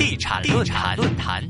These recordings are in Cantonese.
地產論壇。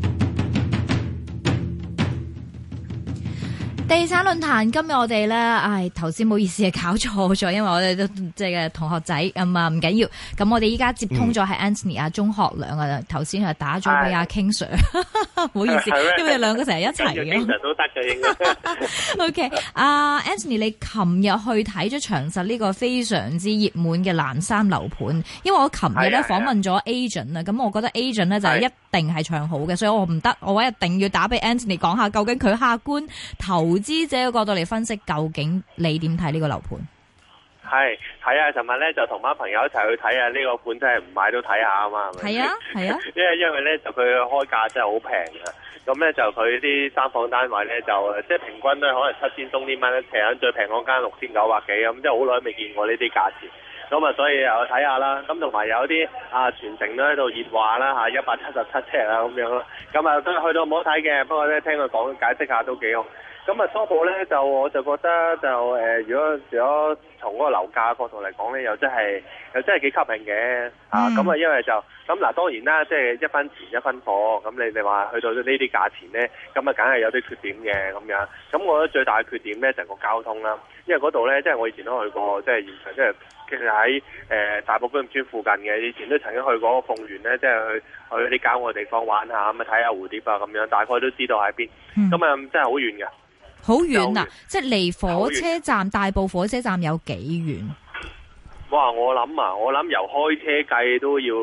地產論壇今日我哋咧，頭先唔好意思搞錯咗，因為我哋都即係同學仔咁啊，唔緊要。咁我哋依家接通咗係 Anthony 啊，鐘學良啊，頭先係打咗俾阿 King Sir，唔好意思，因為兩個成日一齊嘅。 King Sir 都得嘅應該。 OK， Anthony， 你琴日去睇咗長實呢個非常之熱門嘅藍山樓盤，因為我琴日咧訪問咗 agent 啊，咁我覺得 agent 咧就係一定係唱好嘅，所以我唔得，我一定要打俾 Anthony 講下究竟佢客觀投資者嘅角度嚟分析，究竟你點睇呢個樓盤？ 係睇下，尋日咧就同班朋友一齊去睇下呢個盤，真係唔買都睇下啊嘛，係咪？ 係啊，係啊， 因為咧就佢開價真係好平嘅，咁咧就佢啲三房單位咧就即係平均咧可能7000多啲蚊一尺，最平嗰間6900幾咁，即係好耐未見過呢啲價錢。咁啊，所以又睇下啦。咁同埋有啲全城都喺度熱話啦嚇，177尺啊咁樣咯。咁啊都去到唔好睇嘅，不過咧聽佢講解釋下都幾好。咁啊初步咧我就覺得就如果從嗰個樓價角度嚟講咧，又真係幾吸引嘅咁啊，因為就咁嗱，當然啦，即係一分錢一分貨。咁你話去到呢啲價錢咧，咁啊梗係有啲缺點嘅咁樣。咁我覺得最大嘅缺點咧就係個交通啦，因為嗰度咧即係我以前都去過，即係現場即係其實喺大埔工業村附近嘅，以前都曾經去過鳳園咧，即係去啲郊外地方玩下咁啊，睇下蝴蝶啊咁樣，大概都知道喺邊。咁啊真係好遠嘅。 好遠啊！即係離火車站大埔火車站有幾遠？ 哇！我諗由開車計都要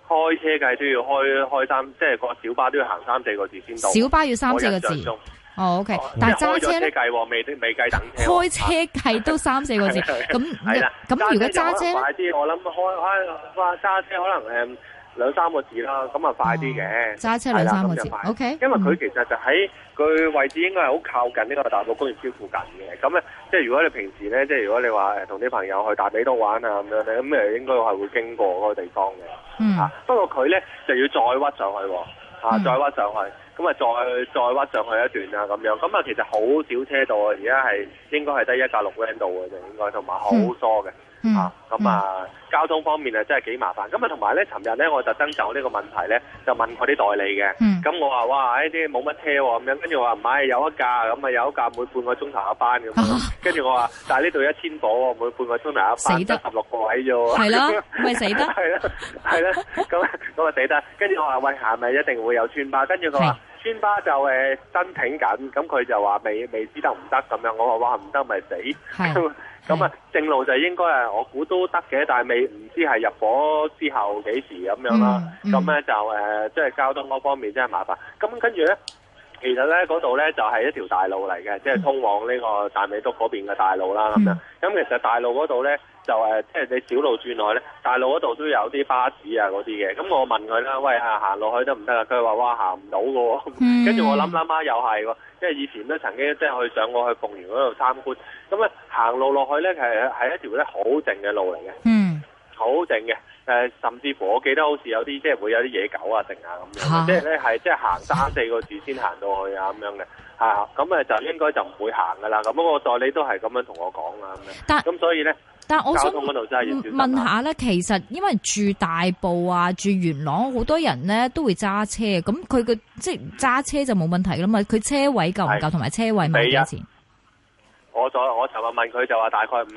開三，即係個小巴都要行3-4個字先到。 小巴要3-4個字。哦，OK。但係揸車咧？ 計未計等車。 開車計都3-4個字。咁如果揸車快啲，我諗開揸車可能2-3個字啦，咁啊快啲嘅。 揸車2-3個字。OK。 因為佢其實就喺佢位置應該係好靠近呢個大埔工業村附近嘅。咁咧，即係如果你平時咧，即係如果你話同啲朋友去大尾東玩啊咁樣咧，咁應該係會經過嗰個地方嘅。不過佢咧就要再屈上去喎，再屈上去。咁啊，再屈上去一段啊，咁樣，咁啊，其實好少車道啊，而家係應該係得1架6 lane 度嘅啫，應該，同埋好疏嘅，交通方面啊，真係幾麻煩。咁啊，同埋咧，尋日咧，我特登就呢個問題咧，就問佢啲代理嘅，咁我話哇，呢啲冇乜車喎，咁樣，跟住我話唔係有一架，咁啊有一架每半個鐘頭一班咁樣，跟住我話，但係呢度1000伙喎，每半個鐘頭一班， 死得 16個位啫喎， 係咯，咪死得， 係啦，咁啊死得，跟住我話喂，係咪一定會有村巴？跟住佢話。村巴就申請緊，咁佢就話未知得唔得咁樣，我話哇唔得咪死，咁啊正路就應該係我估都得嘅，但係唔知係入伙之後幾時咁樣啦，咁咧就即係交通嗰方面真係麻煩，咁跟住咧。其實咧嗰度咧就係一條大路嚟嘅，即係通往呢個大美督嗰邊嘅大路啦咁樣。咁其實大路嗰度咧就即係你小路轉內咧，大路嗰度都有啲巴士啊嗰啲嘅。咁我問佢啦，喂行落去得唔得啊？佢話哇行唔到嘅喎。跟住我諗下又係喎，因為以前都曾經即係上過去鳳園嗰度參觀。咁咧行路落去咧係一條咧好靜嘅路嚟嘅，好靜嘅。甚至乎我記得好似有啲即係會有啲野狗啊剩啊咁樣，即係咧係即係行3-4個字先行到去啊咁樣嘅，咁就應該就唔會行噶啦。咁我代理都係咁樣同我講啊咁樣。咁所以咧， 但我想交通嗰度真係要小心問下咧，其實因為住大埔啊、住元朗，好多人咧都會揸車，咁佢嘅即係揸車就冇問題噶嘛。佢車位夠唔夠，同埋車位賣幾多錢？ 我尋日問佢就話大概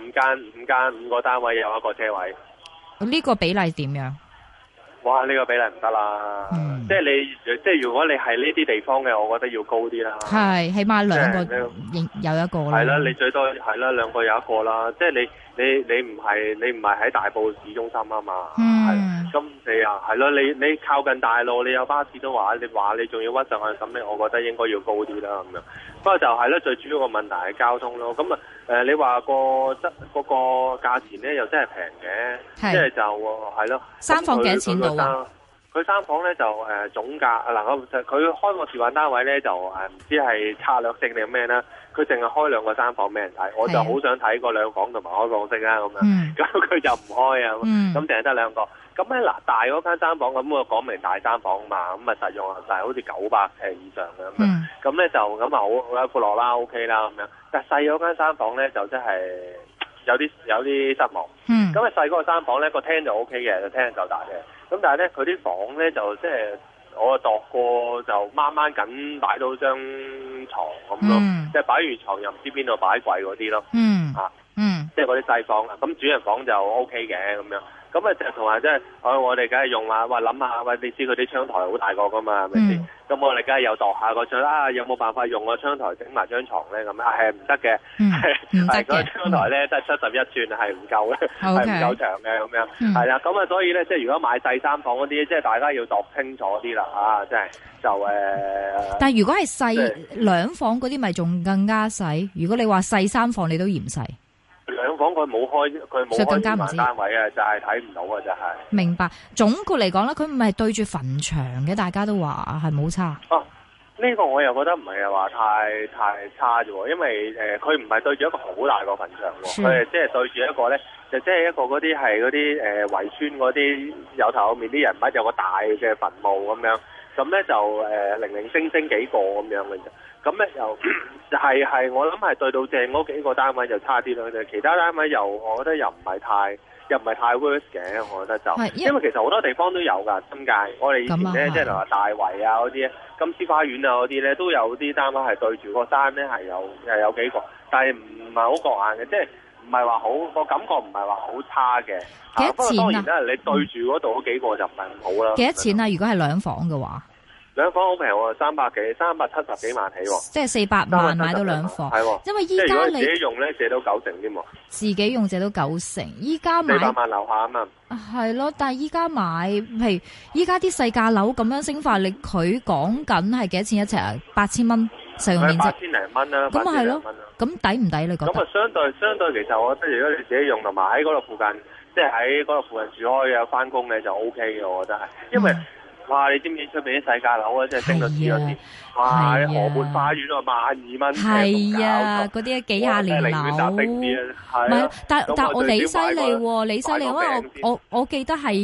5個單位有一個車位。 呢個比例點樣？ 哇！呢個比例唔得啦，即係如果你係呢啲地方嘅，我覺得要高啲啦。係， 起碼2個有一個啦。係啦， 你最多係啦2個有一個啦。即係你唔係喺大埔市中心啊嘛。咁你啊係咯，你靠近大路，你有巴士都話，你仲要屈上去，咁我覺得應該要高啲啦咁樣。不過就係咧，最主要個問題係交通咯。咁你話嗰個價錢咧又真係平嘅，即係就係咯。3房幾錢到啊？佢3房咧就總價佢開個示範單位咧就唔知係策略性定咩啦。佢淨係開2個3房俾人睇，我就好想睇個2房同埋開放式啦咁樣。咁佢就唔開啊，咁淨係得2個。咁咧大嗰間3房咁我講明大3房嘛，咁實用就係好似900尺以上嘅咁樣。咁咧就咁好有闊落啦 ，OK 啦咁樣。但細嗰間3房咧就真係有啲失望。咁細嗰個3房咧個廳就 OK 嘅，個廳夠大嘅。 咁但係咧佢啲房咧就即係我度過就掹掹緊擺到張床咁咯，即係擺完床又唔知邊度擺櫃嗰啲咯。即係嗰啲細房啦，咁主人房就 O K 嘅咁樣，咁啊就同埋即係我哋梗係用下，話諗下，喂你知佢啲窗台好大個噶嘛，係咪先？咁我哋梗係有度下個窗啦，有冇辦法用個窗台整埋張床咧？咁係唔得嘅，係嗰個窗台咧得71吋係唔夠嘅，係唔夠長嘅咁樣，係啦，咁啊所以咧即係如果買細三房嗰啲，即係大家要度清楚啲啦，即係就但係如果係細兩房嗰啲，咪仲更加細？如果你話細三房，你都嫌細。 兩房佢冇開天文單位啊，就係睇唔到啊，就係。明白。 總括嚟講咧，佢唔係對住墳場嘅，大家都話係冇差。 呢個我又覺得唔係話太差啫喎，因為佢唔係對住一個好大個墳場喎，佢係即係對住一個咧，就即係一個嗰啲係嗰啲圍村嗰啲有頭有面啲人物，有個大嘅墳墓咁樣，咁咧就零零星星幾個咁樣嘅啫。咁咧又係我諗係對到正嗰幾個單位就差啲咯，其他單位我覺得又唔係太 worse 嘅，我覺得就因為其實好多地方都有㗎，新界我哋以前咧即係話大圍啊嗰啲金絲花園啊嗰啲咧都有啲單位係對住個山咧係有幾個，但係唔係好覺眼嘅，即係唔係話好個感覺唔係話好差嘅。 幾多錢啊？ 當然啦，你對住嗰度嗰幾個就唔係咁好啦。 幾多錢啊？如果係兩房嘅話？ 兩房好平喎，370幾萬起喎， 即係400萬買到兩房，係喎。因為依家你自己用咧借到90添喎， 自己用借到90，依家買 400萬樓下啊嘛。 係咯，但係依家買，譬如依家啲細價樓咁樣升法，佢講緊係幾多錢一尺啊？8000蚊實用面積 ，8000零蚊啦， 咁係咯，咁抵唔抵你覺得？ 咁啊，相對其實我覺得如果你自己用同埋喺嗰度附近，即係喺嗰度附近住開嘅翻工嘅就 OK 嘅，我覺得係，因為。哇！你知唔知出邊啲細價樓啊，即係升到黐咗線！哇！河畔花園啊，12,000蚊， 係啊，嗰啲幾廿年樓，唔係，但我你犀利喎，你犀利，因為我記得係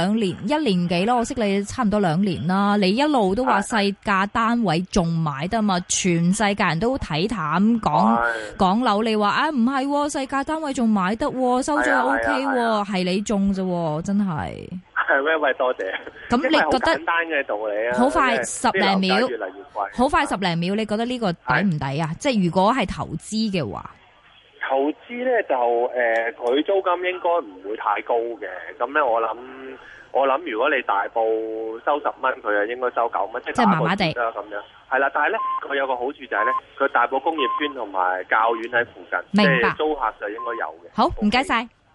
1年幾咯，我識你差唔多2年啦，你一路都話細價單位仲買得嘛，全世界人都睇淡講樓，你話唔係細價單位仲買得，收咗 OK 喎，係你中啫喎，真係。 係咩？喂，多謝。 咁你覺得簡單嘅道理啊？ 好快10零秒， 越嚟越貴。 好快10零秒，你覺得呢個抵唔抵啊？即係如果係投資嘅話， 投資咧就佢租金應該唔會太高嘅。咁咧我諗如果你大埔收10蚊，佢就應該收9蚊，即係麻麻地啦咁樣。係啦，但係咧佢有個好處就係咧，佢大埔工業村同埋教院喺附近， 明白， 即係租客就應該有嘅。 好，唔該晒。